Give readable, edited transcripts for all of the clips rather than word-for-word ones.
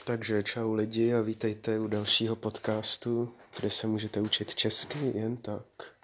Takže čau lidi a vítejte u dalšího podcastu, kde se můžete učit česky jen tak.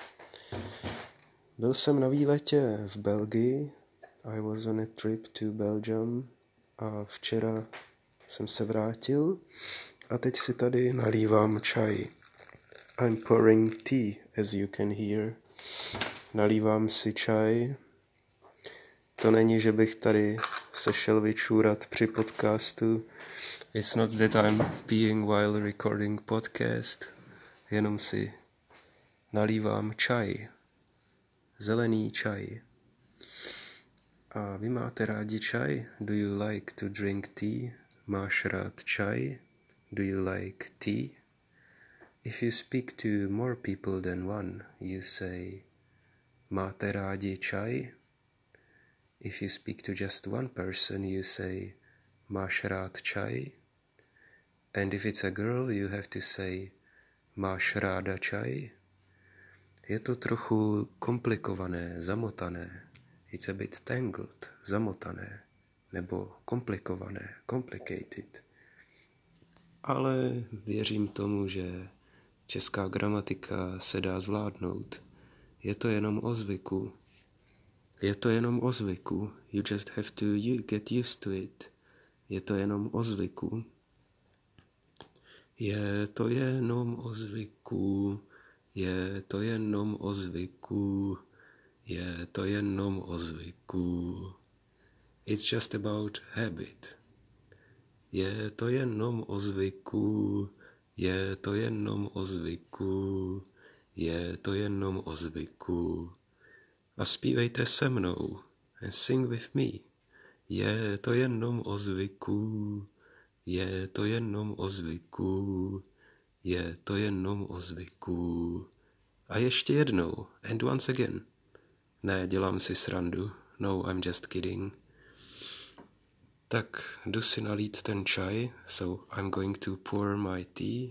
Byl jsem na výletě v Belgii, I was on a trip to Belgium a včera jsem se vrátil a teď si tady nalívám čaj. I'm pouring tea, as you can hear. Nalívám si čaj. To není, že bych tady se šel vyčůrat při podcastu. It's not that I'm peeing while recording podcast. Jenom si nalívám čaj. Zelený čaj. A vy máte rádi čaj? Do you like to drink tea? Máš rád čaj? Do you like tea? If you speak to more people than one, you say máte rádi čaj? If you speak to just one person, you say máš rád čaj? And if it's a girl, you have to say máš ráda čaj? Je to trochu komplikované, zamotané. It's a bit tangled, zamotané. Nebo komplikované, complicated. Ale věřím tomu, že česká gramatika se dá zvládnout. Je to jenom o zvyku. Je to jenom o zvyku. You just have to get used to it. Je to jenom o zvyku. Je to jenom o zvyku. Je to jenom o zvyku. Je to jenom o zvyku. It's just about habit. Je to jenom o zvyku. Je to jenom o zvyku. Je to jenom o zvyku. A zpívejte se mnou. And sing with me. Je to jenom o zvyku. Je to jenom o zvyku. Je to jenom o zvyku. A ještě jednou. And once again. Ne, dělám si srandu. No, I'm just kidding. Tak jdu si nalít ten čaj. So I'm going to pour my tea.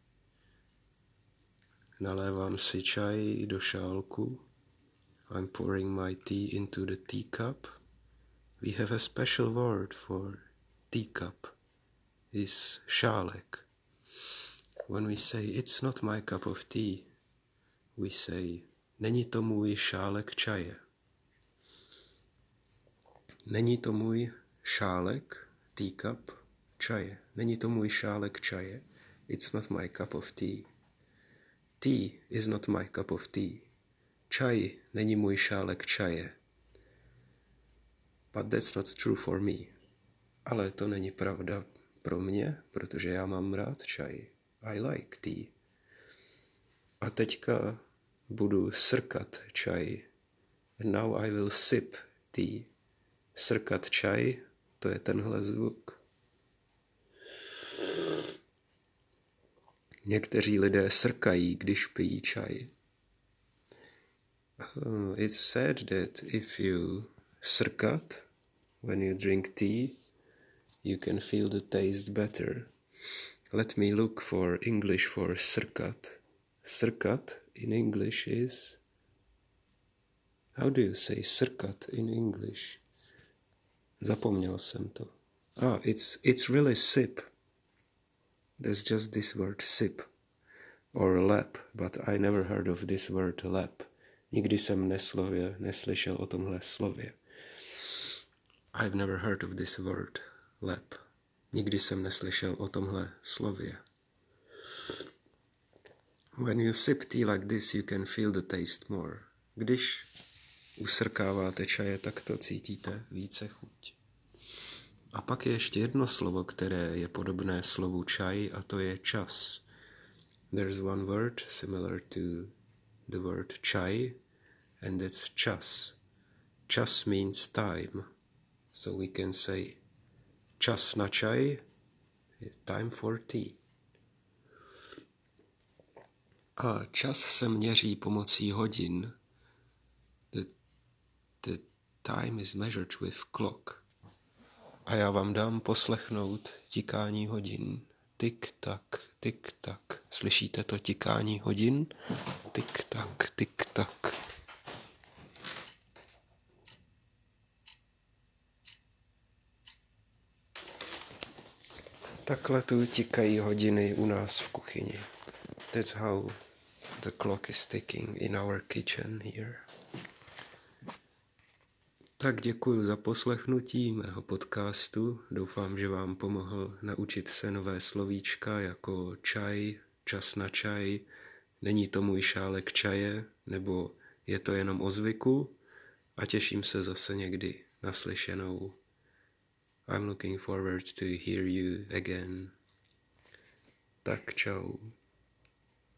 Nalévám si čaj do šálku. I'm pouring my tea into the teacup. We have a special word for teacup. Is šálek. When we say it's not my cup of tea, we say není to můj šálek čaje. Není to můj šálek, teacup, čaje. Není to můj šálek čaje. It's not my cup of tea. Tea is not my cup of tea. Čaj není můj šálek čaje. But that's not true for me. Ale to není pravda pro mě, protože já mám rád čaj. I like tea. A teďka budu srkat čaj. And now I will sip tea. Srkat čaj, to je tenhle zvuk. Někteří lidé srkají, když pijí čaj. It's said that if you srkat, when you drink tea, you can feel the taste better. Let me look for English for srkat. Srkat in English is... How do you say srkat in English? Zapomněl jsem to. It's really sip. There's just this word sip. Or lap, but I never heard of this word lap. Nikdy jsem neslyšel o tomhle slově. I've never heard of this word lap. Nikdy jsem neslyšel o tomhle slově. When you sip tea like this, you can feel the taste more. Když usrkáváte čaje, tak to cítíte více chuť. A pak je ještě jedno slovo, které je podobné slovu čaj, a to je čas. There's one word similar to the word čaj, and that's čas. Čas means time. So we can say čas na čaj, time for tea. A čas se měří pomocí hodin. The time is measured with clock. A já vám dám poslechnout tikání hodin. Tik tak, tik tak. Slyšíte to tikání hodin? Tik tak, tik tak. Takhle tu tikají hodiny u nás v kuchyni. That's how the clock is ticking in our kitchen here. Tak děkuji za poslechnutí mého podcastu. Doufám, že vám pomohl naučit se nové slovíčka jako čaj, čas na čaj, není to můj šálek čaje, nebo je to jenom o zvyku, a těším se zase někdy naslyšenou. I'm looking forward to hear you again. Tak čau.